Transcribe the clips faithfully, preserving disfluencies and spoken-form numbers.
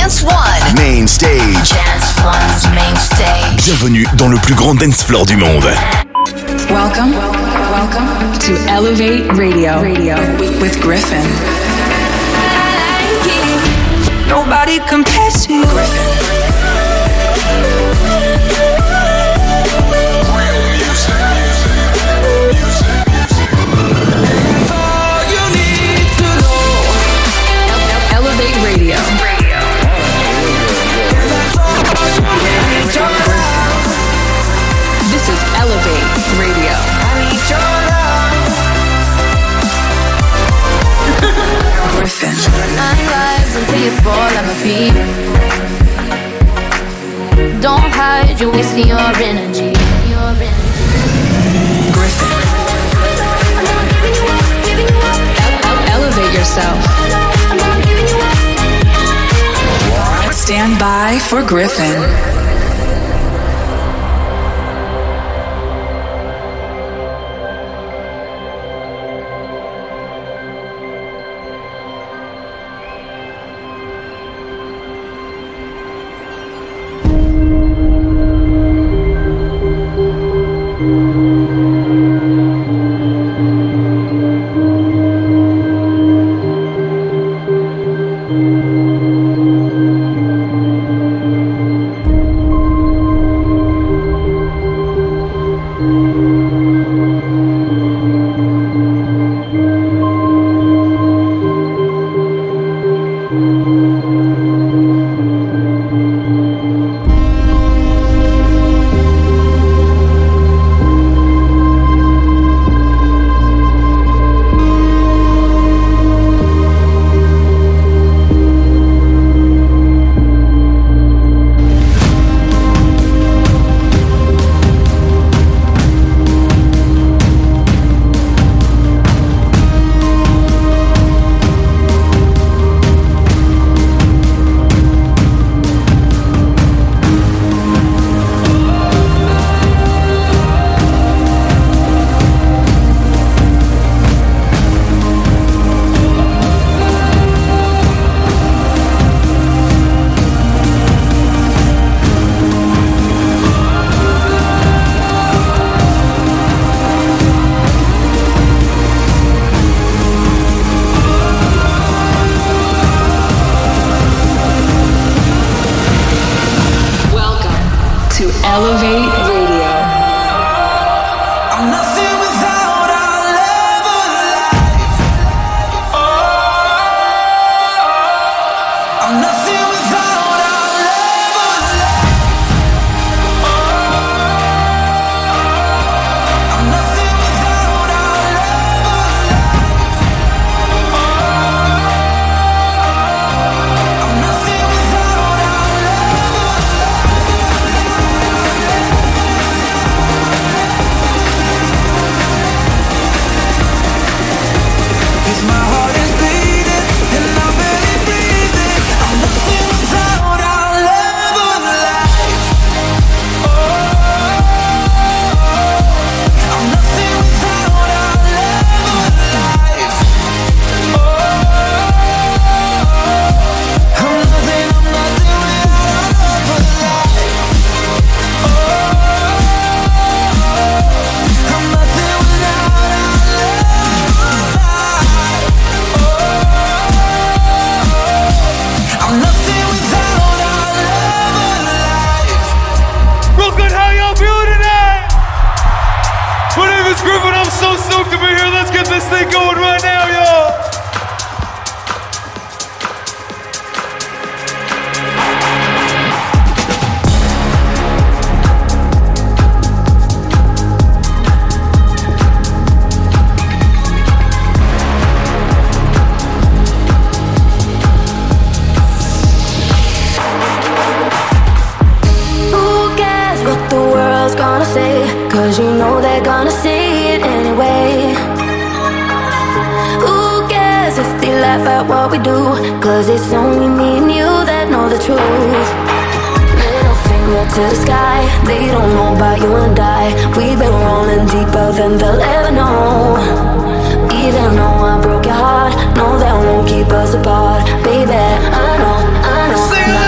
Dance One. Main Stage. Dance One's Main Stage. Bienvenue dans le plus grand dance floor du monde. Welcome, welcome to Elevate Radio, Radio with Griffin. Nobody compares to you. Griffin. Elevate Radio. This is Elevate Radio. Griffin. Nine lives until you fall at my feet. Don't hide, you're wasting your energy. Your energy. Griffin. Elevate yourself. Stand by for Griffin. To the sky, they don't know about you and I. We've been rolling deeper than they'll ever know. Even though I broke your heart, no, that won't keep us apart. Baby, I know, I know.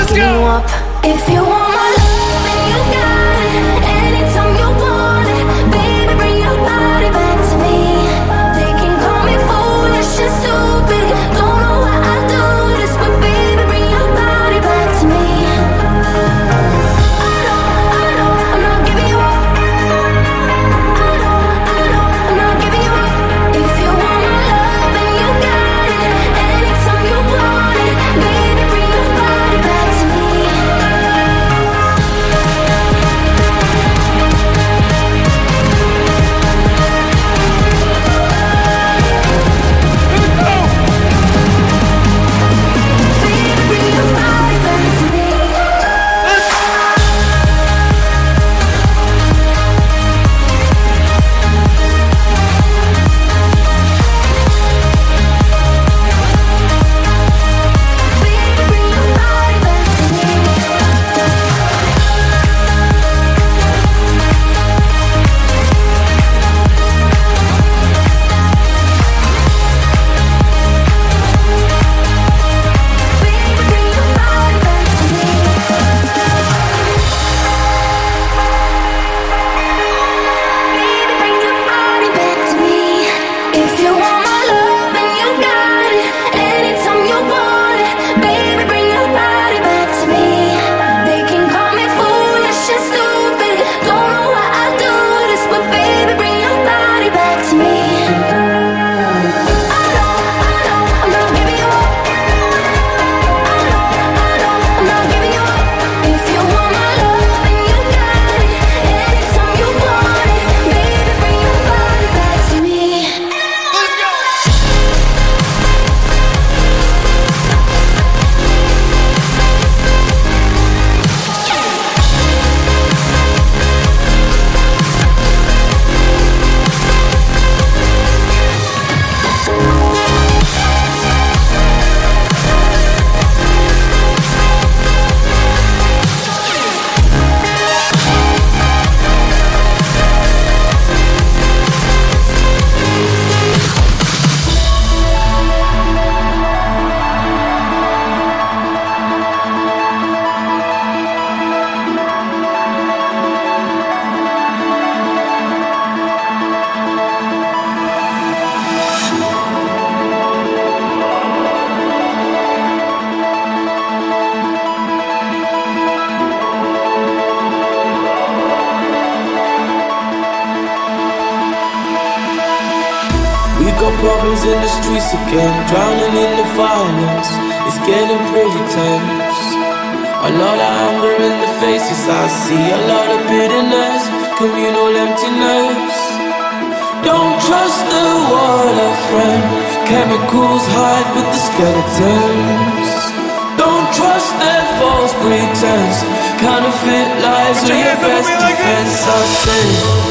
problems in the streets again, drowning in the violence. It's getting pretty tense. A lot of anger in the faces I see, a lot of bitterness, communal emptiness. Don't trust the water, friend. Chemicals hide with the skeletons. Don't trust their false pretense. Counterfeit lies are your best defense. I say,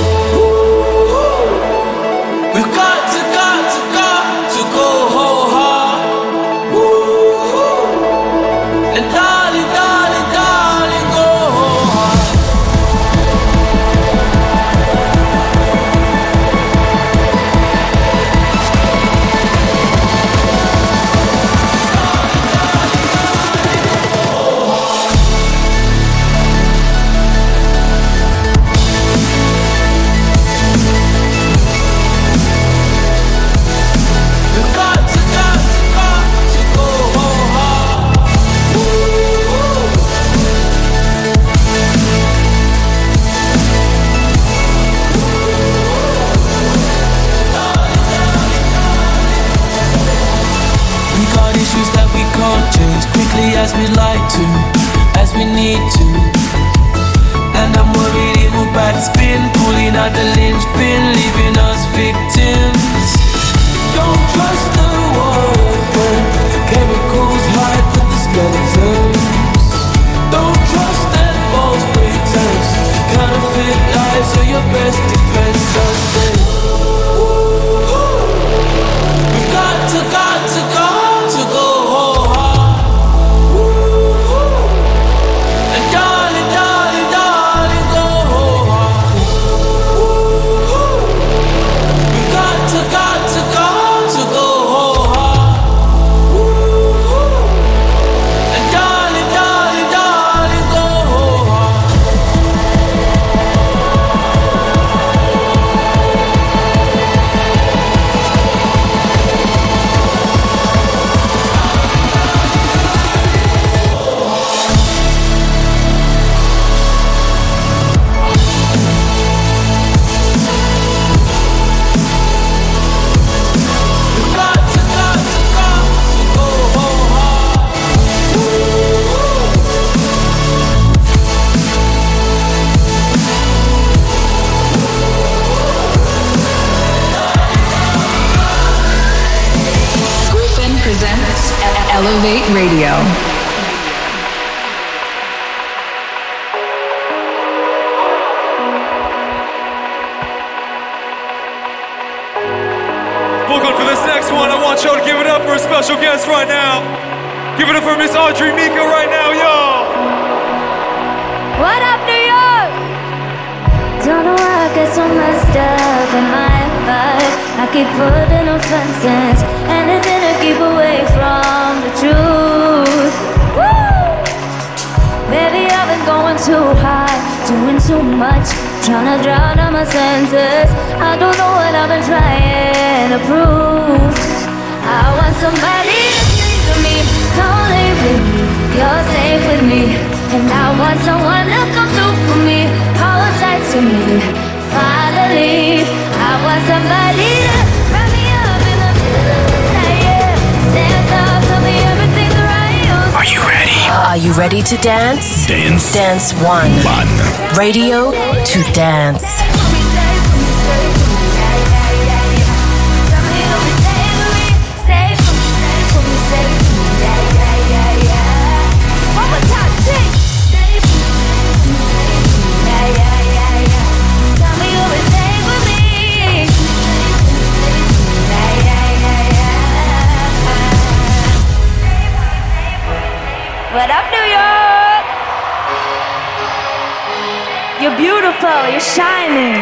we've got to, got to, got to go whole hard. And darling, darling, darling, go whole hard. As we like to, as we need to. And I'm worried it will backspin, pulling out the linchpin, leaving us victims. Don't trust the water, friend. Chemicals hide with the skeletons. Don't trust that false pretense. Counterfeit lies are your best defense. I say, we've got to, got to, got to go whole hard. Elevate Radio. Welcome for this next one. I want y'all to give it up for a special guest right now. Give it up for Miss Audrey Mika right now, y'all. What up, New York? Don't know why I get so messed up in my vibe. I keep putting on fences, anything to keep away from the truth. Woo! Baby, I've been going too high, doing too much, trying to drown out my senses. I don't know what I've been trying to prove. I want somebody to say to me, come lay with me, you're safe with me. And I want someone to come through for me, hold tight to me, finally. I want somebody to wrap me up in the middle of the night, yeah. Stand up, tell me everything's right. Are you ready? Are you ready to dance? Dance. Dance one. One. Radio to dance. What up, New York? You're beautiful, you're shining.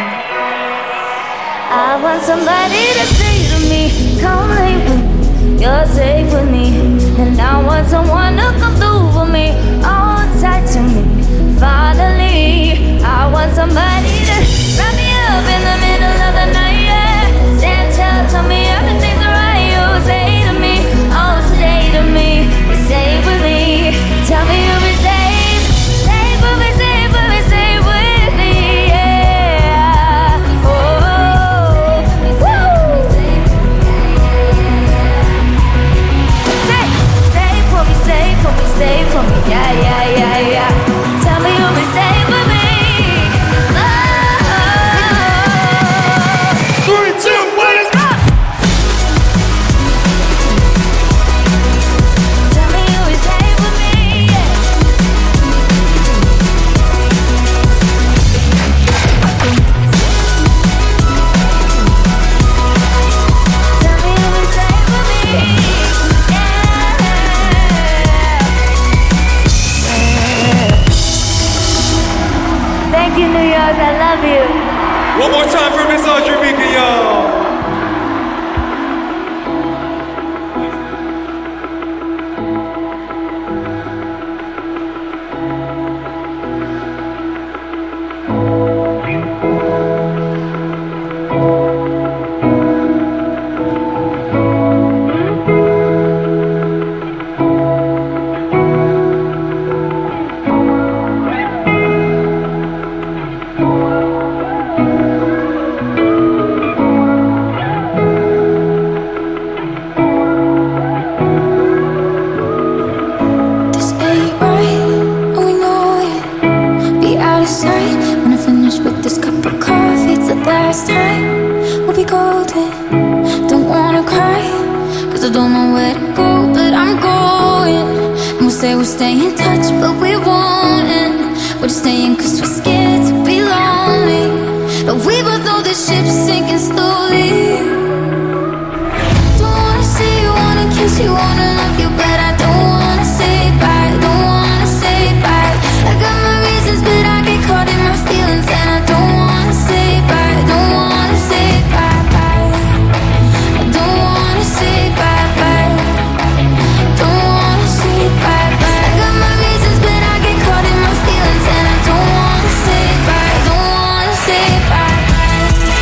I want somebody to say to me, come lay with me, you're safe with me. And I want someone to come through for me, hold tight to me, finally. I want somebody to wrap me up in the middle of the night, yeah. Stand tall, tell me everything's alright. You say to me, oh, say to me, you're safe with me. Tell me you'll be safe, safe with me, safe with me, safe with me, yeah. Oh, woo. I love you. One more time for Miss Audrey Mika, y'all.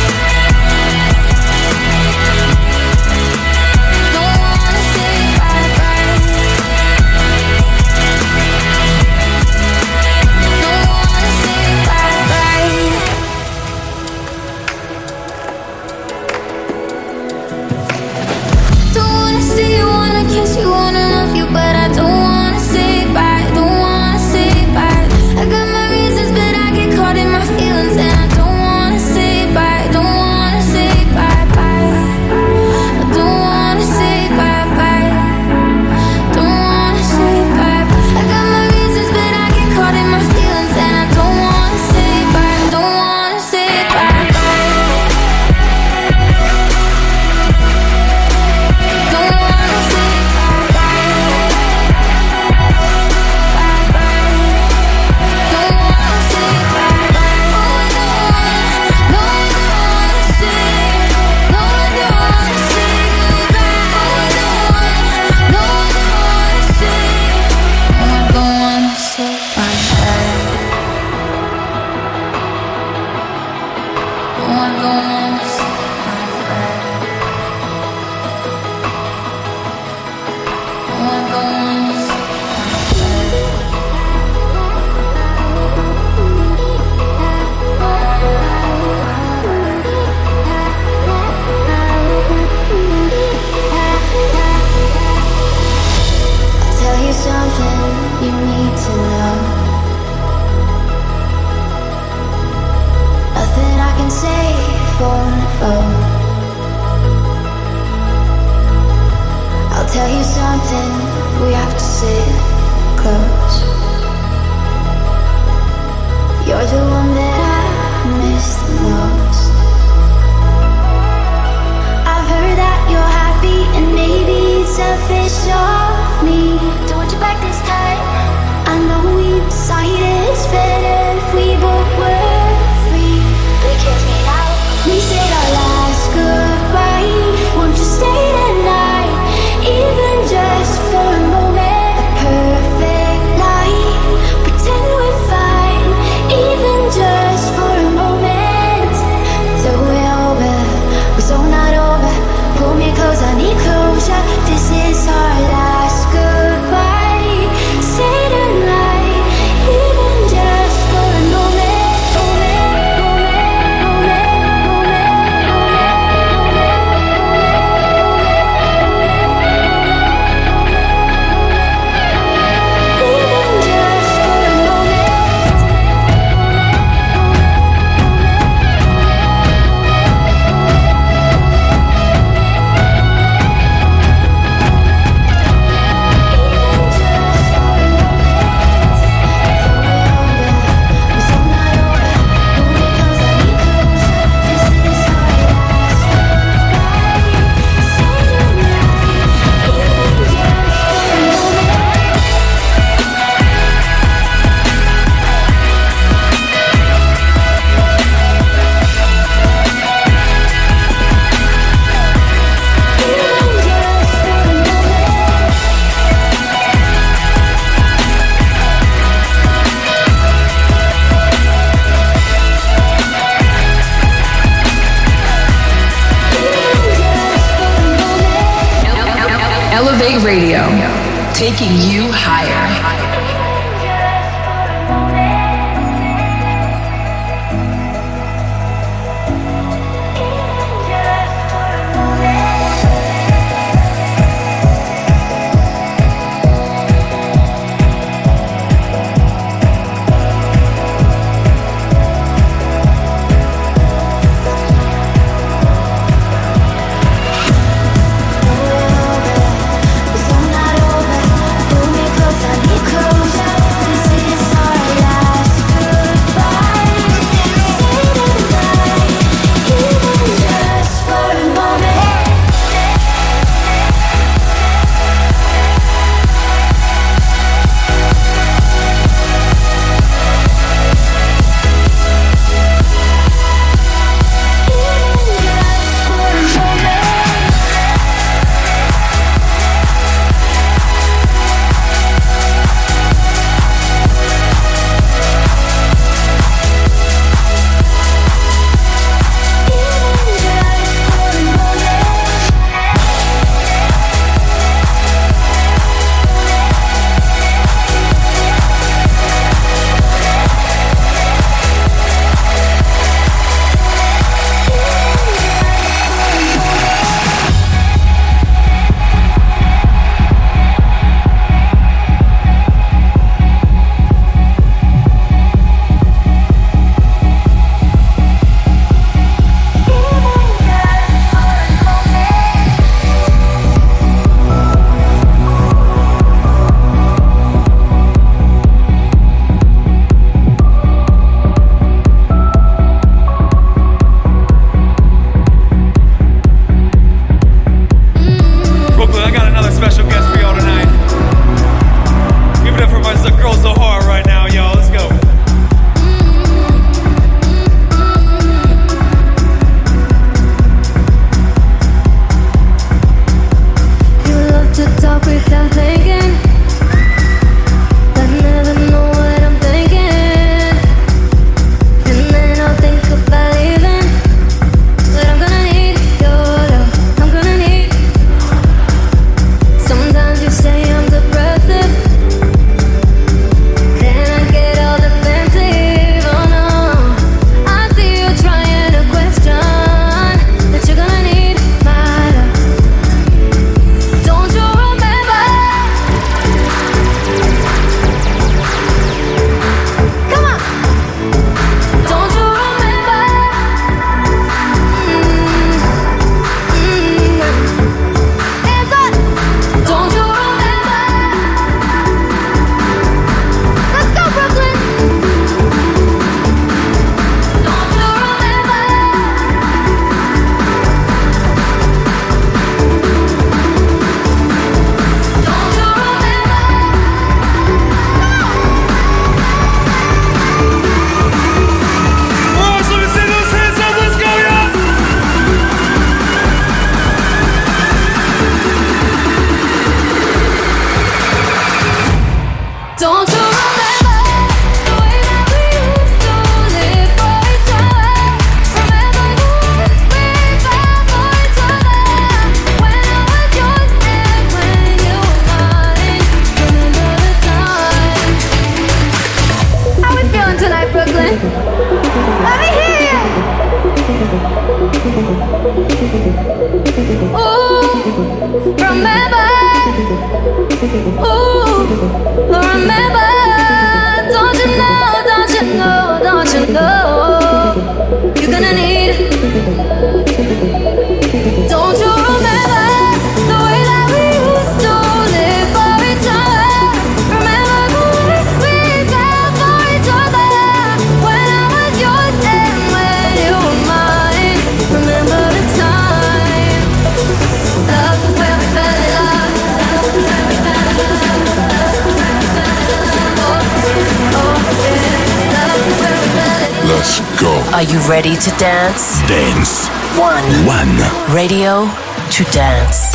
Don't wanna say bye. Are you ready to dance? Dance. One. One. Radio to dance.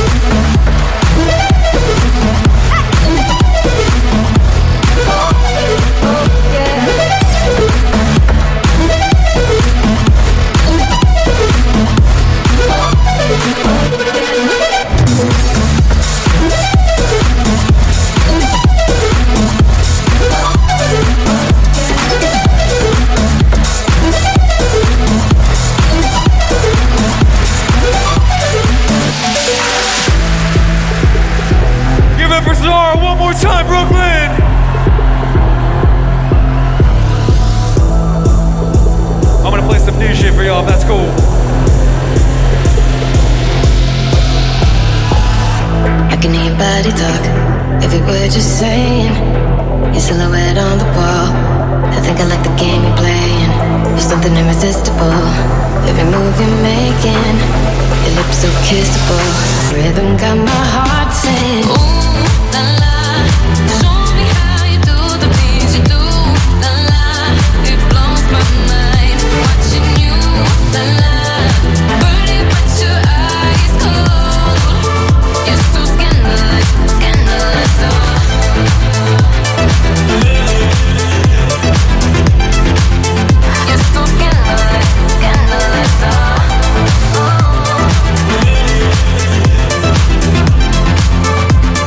Time, Brooklyn! I'm gonna play some new shit for y'all, if that's cool. I can hear your body talk, every word you're saying. Your silhouette on the wall, I think I like the game you're playing. There's something irresistible, every move you're making. Your lips so kissable, rhythm got my heart saying, ooh, la la. Show me how you do the things you do, la la. It blows my mind, watching you, la la. Burning but your eyes cold. You're so scandalous, scandalous, oh. You're so scandalous, scandalous, oh. Oh.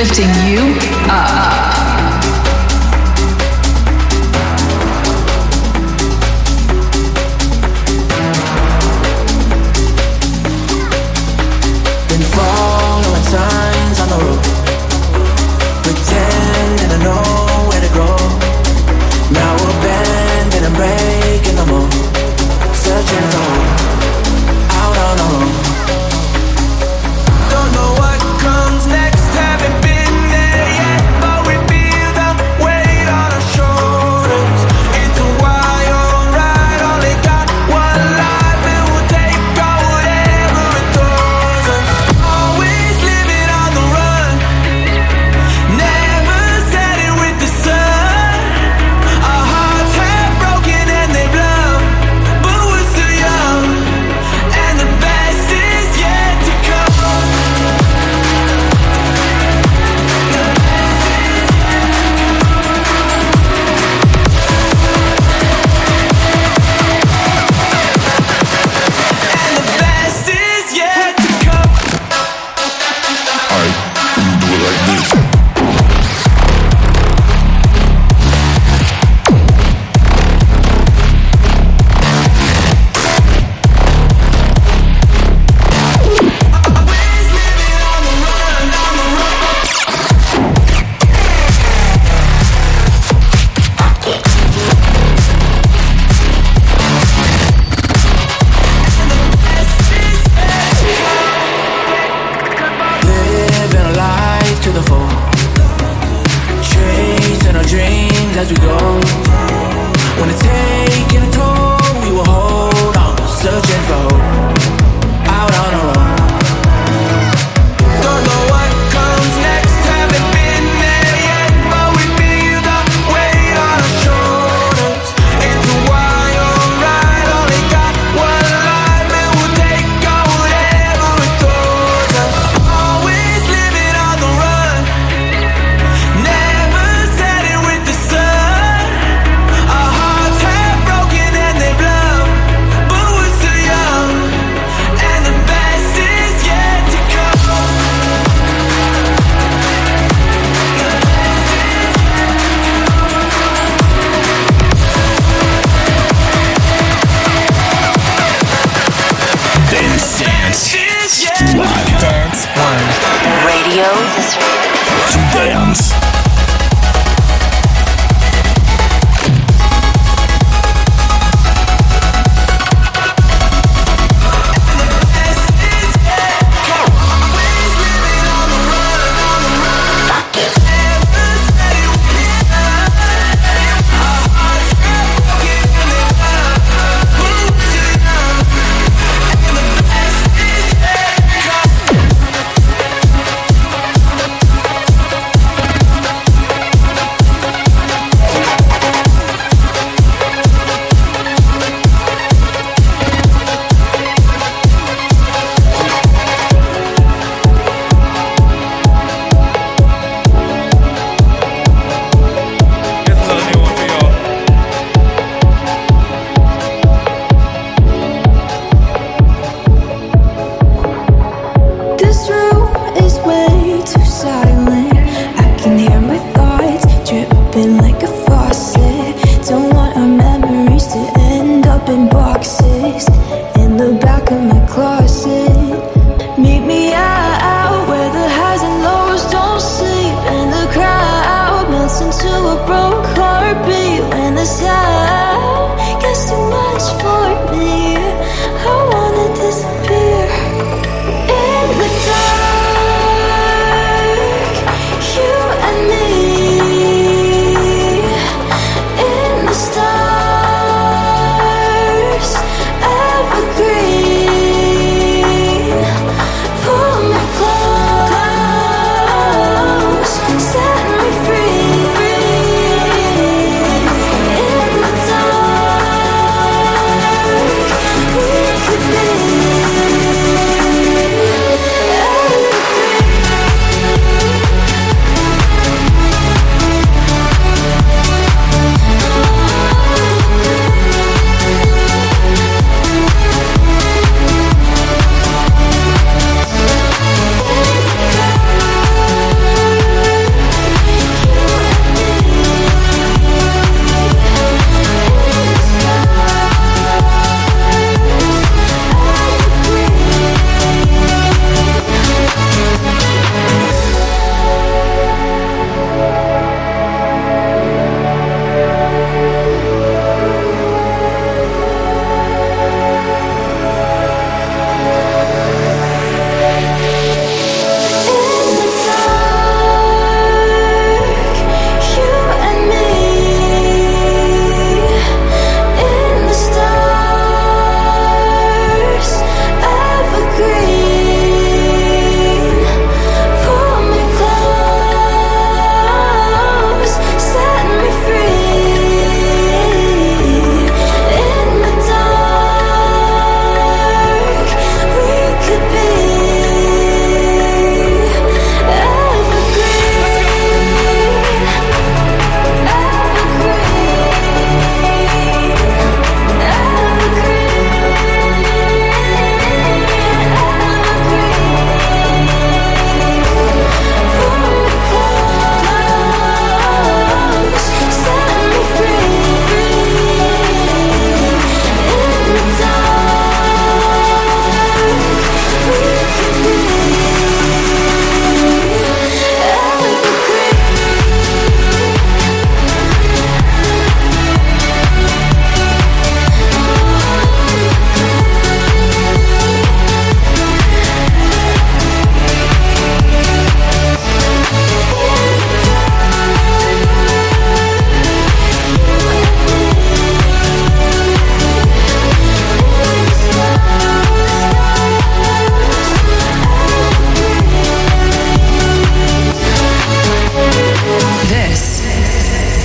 lifting you up. Been following signs on the road, pretending to know where to go. Now we're bending and breaking the mold, searching for out on our own. Don't know what comes next, haven't been there yet, but we feel the weight on our shoulders. It's a wild ride, only got one life, and we'll take on whatever it throws us. Always living on the run, never setting with the sun. Our hearts have broken and they blow, but we're still young, and the best is yet to come. And the best is yet to come. Alright, we do it like this. Always living on the run, on the run. Living a life to the full, chasing our dreams as we go. When it's taking a toll, we will hold on, searching for hope, out on our own. Don't know what comes next, haven't been there yet, but we feel the weight on our shoulders. It's a wild ride, only got one life, and we'll take on whatever it throws us. Always living on the run, never setting with the sun. Our hearts have broken and they blow, but we're still young, and the best is yet to come. Dance, dance, Is yet to come. Dance One. Radio to dance. Here's another new one for y'all. This room is way too silent. I can hear my thoughts dripping like a faucet. Don't want our memories to end up in boxes in the back of my closet. Meet me out where the highs and lows don't sleep, and the crowd melts into a broke heartbeat. When the sound gets too much for me, I wanna disappear. In the dark, you and me. In the stars, evergreen. Pull me close, set me free. In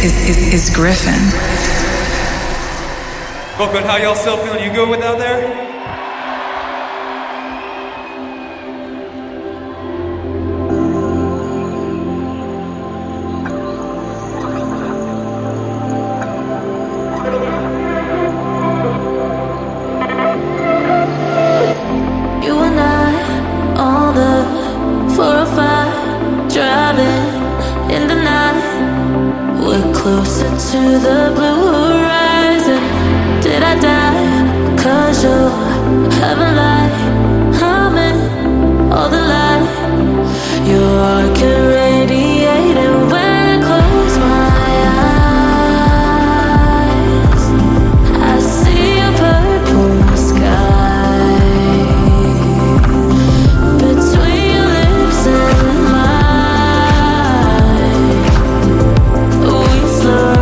is, is, is Griffin. Brooklyn, how y'all still feeling? You good with out there? To the blue horizon. Did I die? Cause you're having light, humming all the light. Your art can radiate, and when I close my eyes, I see a purple sky between your lips and mine. We slow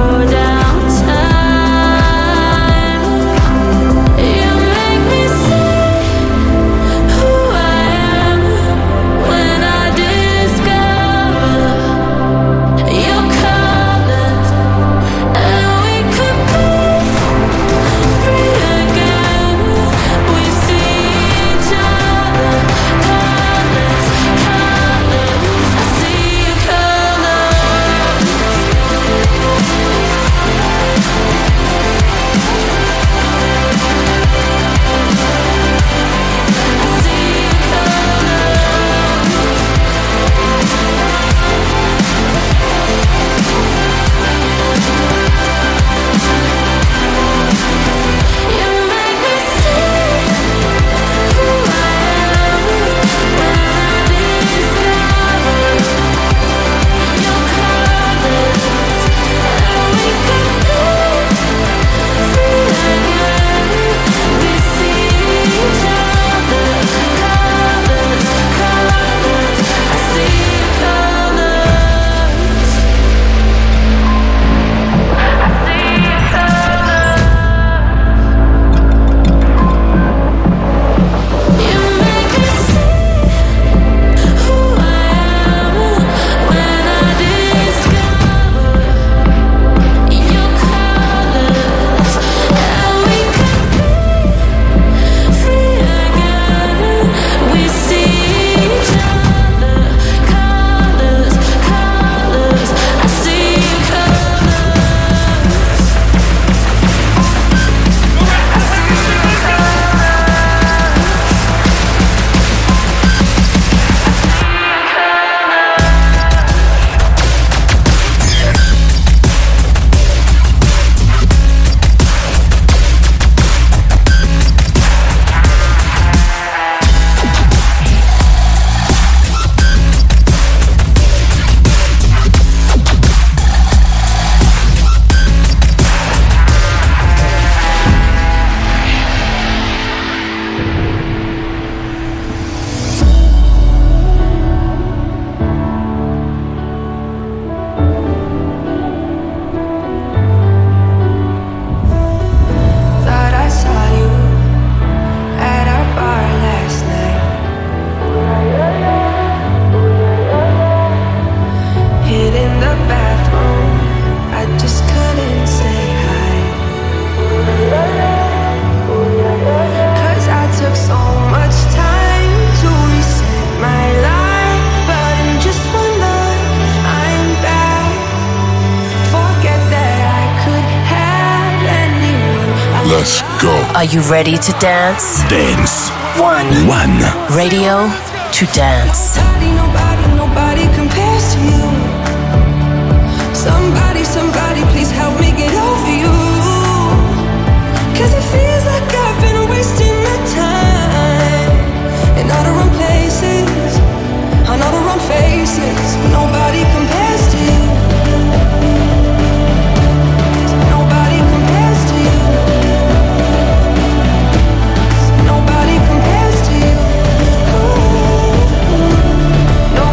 Let's go. Are you ready to dance? Dance. One. One. Radio to dance. Nobody, nobody, nobody compares to you. Somebody, somebody, please help me get over you. Cause it feels like I've been wasting my time in all the wrong places, on all the wrong faces. Nobody compares to you. Nobody compares to you. Nobody compares to you. Ooh, ooh.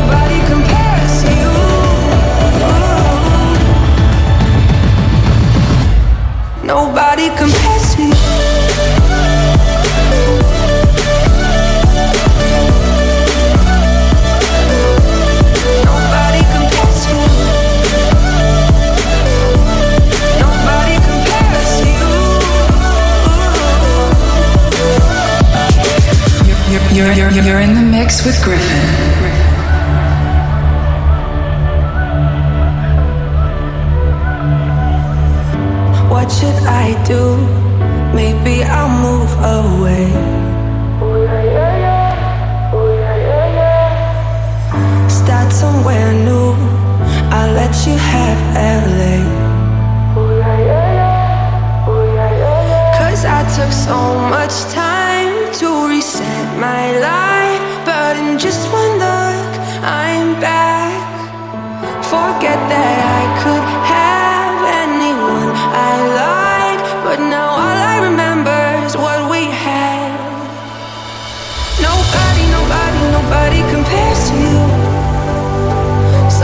You're in the mix with Griffin. What should I do? Maybe I'll move away. Start somewhere new. I'll let you have L A. Cause I took so much time to reset my life, but in just one look, I'm back. Forget that I could have anyone I like, but now all I remember is what we had. Nobody, nobody, nobody compares to you.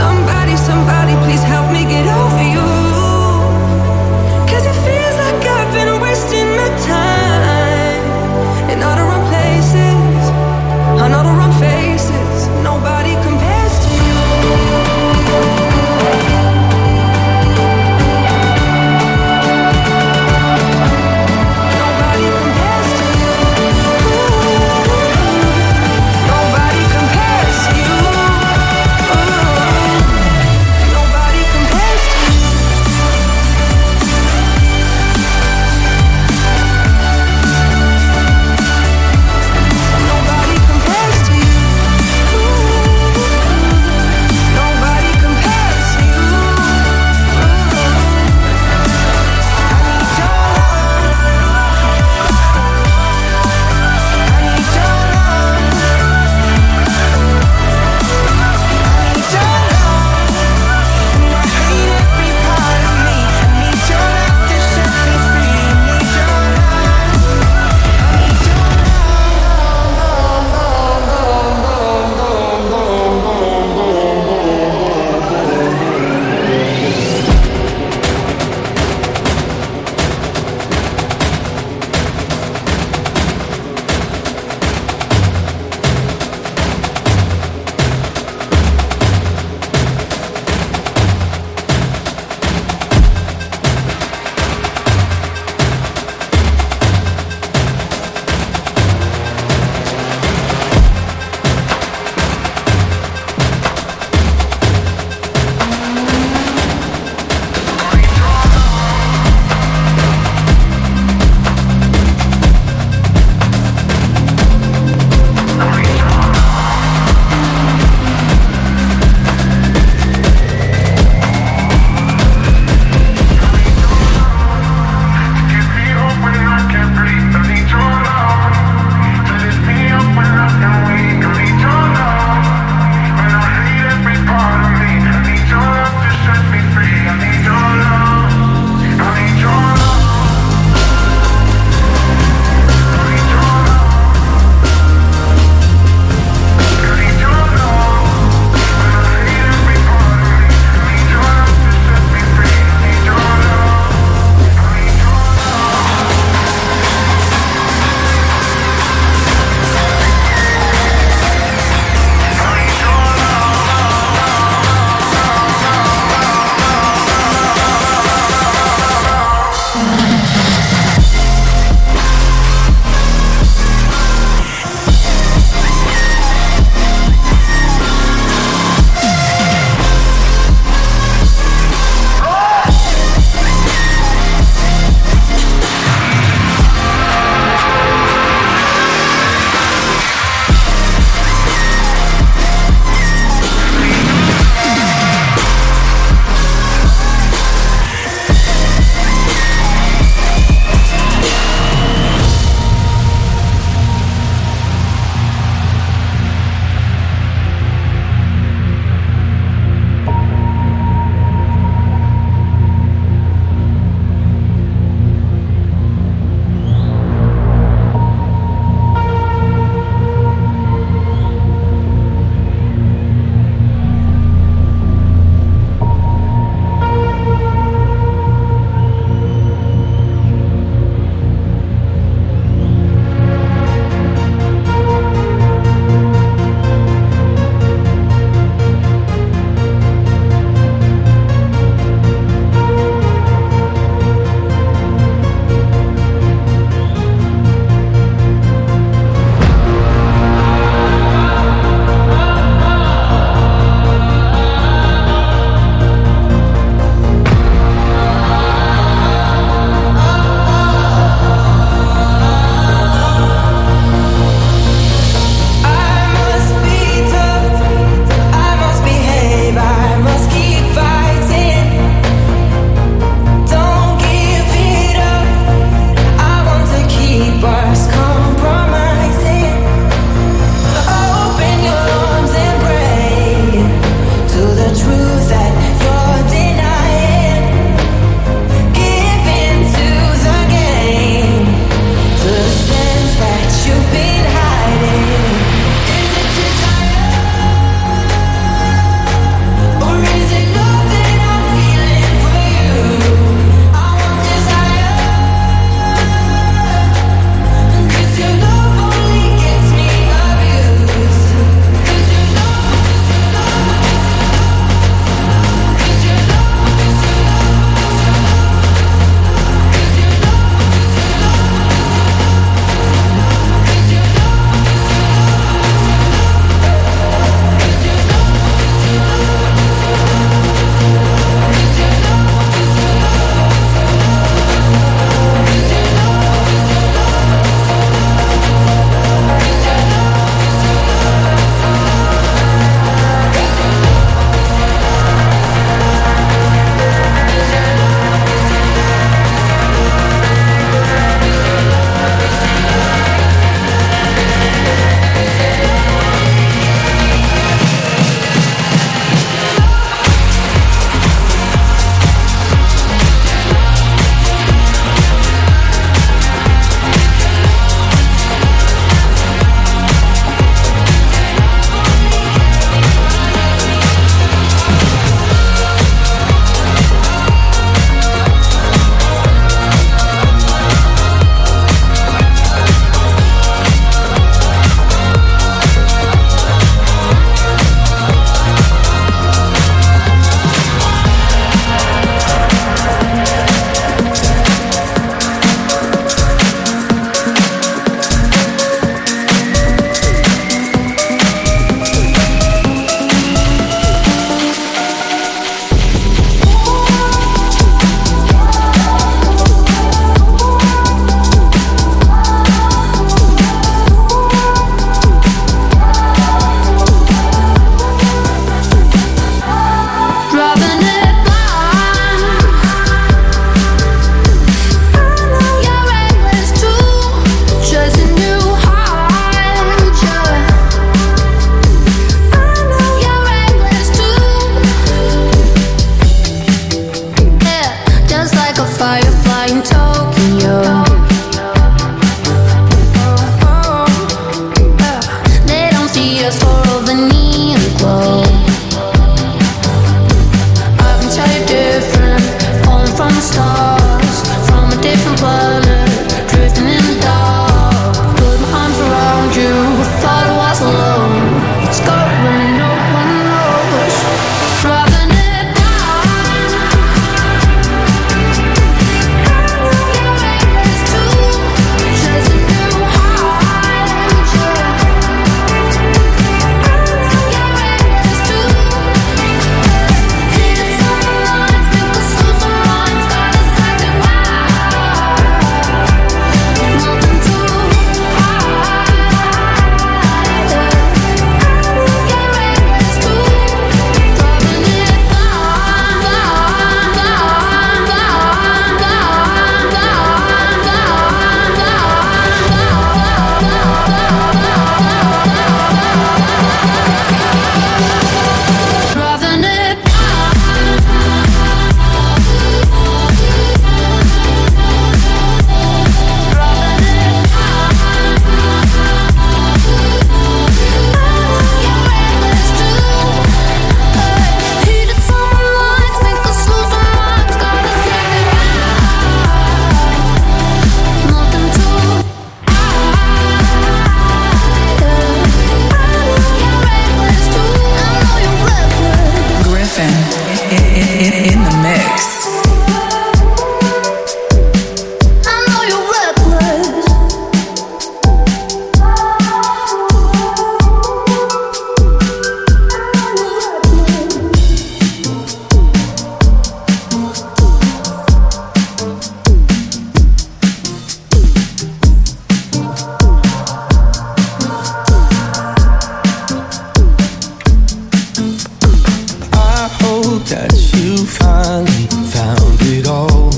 hope that you finally found it all.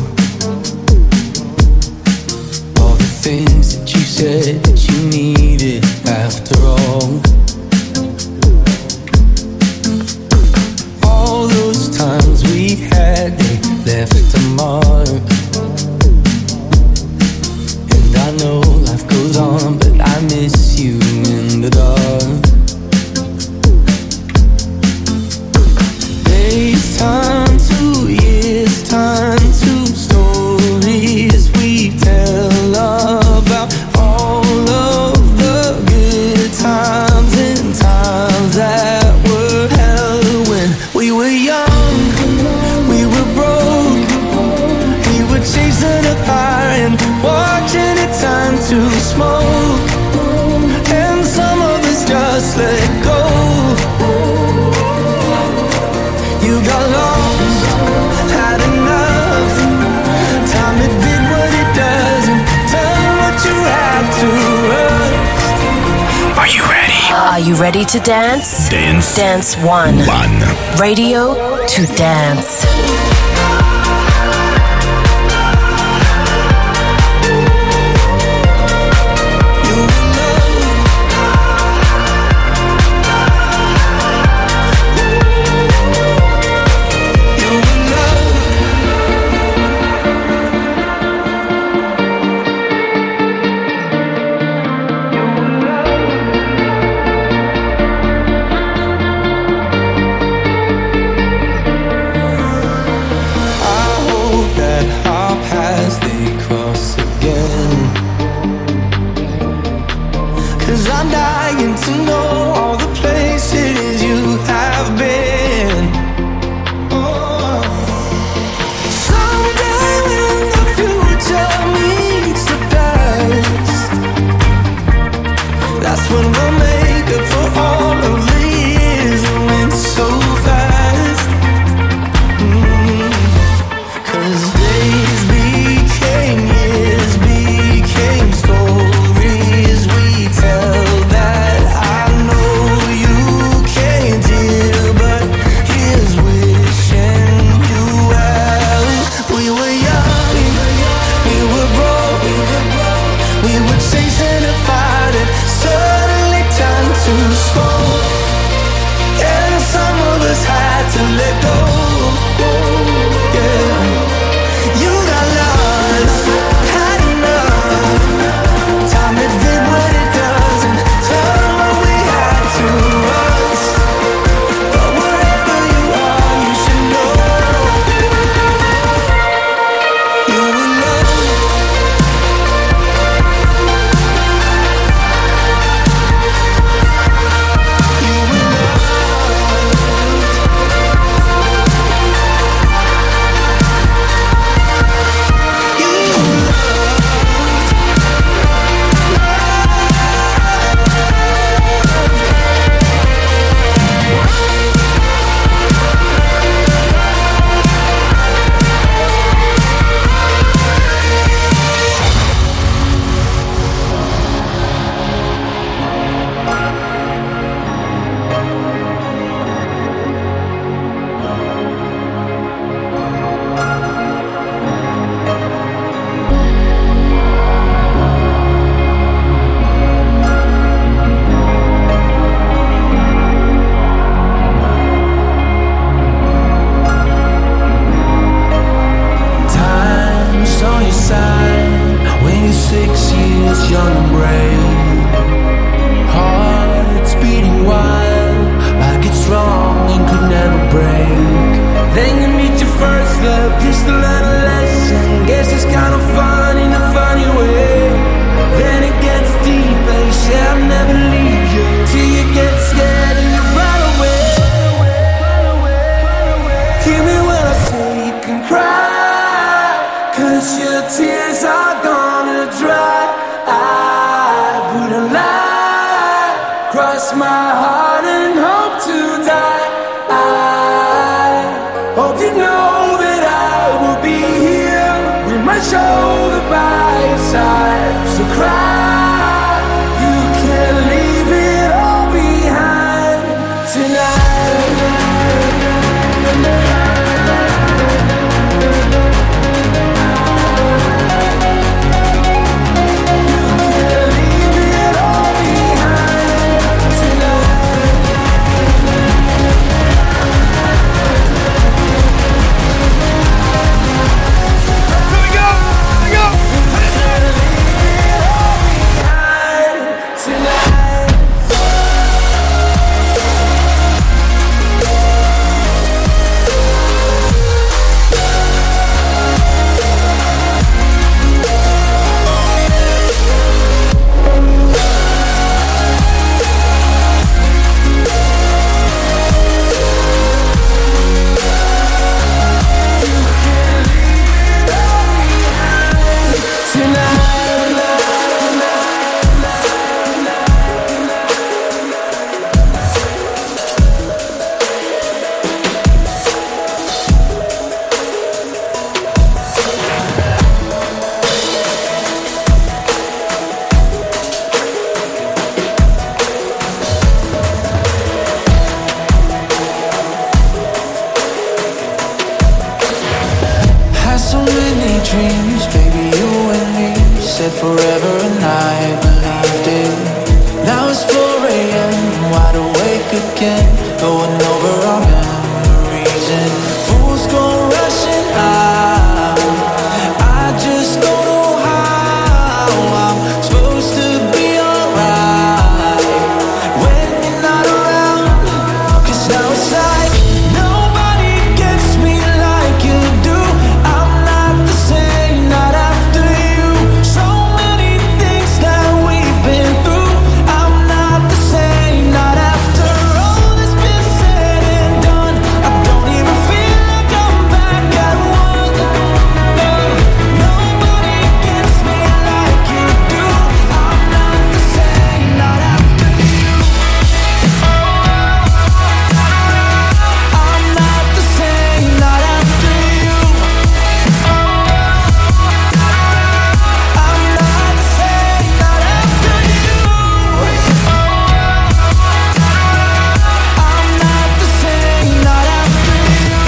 All the things that you said that you needed after all. All those times we had, they left a mark. And I know life goes on, but I miss you in the dark. Days turn to years, turn to stories we tell about all of the good times and times that were hell when we were young, we were broke, we were chasing a fire and watching it turn to smoke, and some of us just let go. You got lost, had enough. Time it did what it does and turned what you had to rust. Are you ready? Are you ready to dance? Dance. Dance one. One. Radio to dance. Cross my heart and hope to die. I hope you know that I will be here with my shoulder by your side. So cry, you can leave it all behind tonight. dreams, baby, you and me. Said forever and I believed it. Now it's four a.m., wide awake again, going over our memories and fools go rushing out. I just don't know how I'm supposed to be alright when you're not around. 'Cause now it's like nobody gets me like you do. I'm not the same, not after you. So many things that we've been through. I'm not the same, not after all that's been said and done. I don't even feel like I'm back at one. No, nobody gets me like you do. I'm not the same, not after you. I'm not the same, not after you. I'm not the same, not after you. I'm not the same, not after you.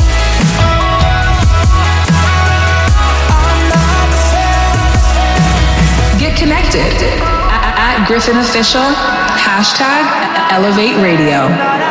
I'm not the same. Get connected at, at Griffin Official, hashtag Elevate Radio.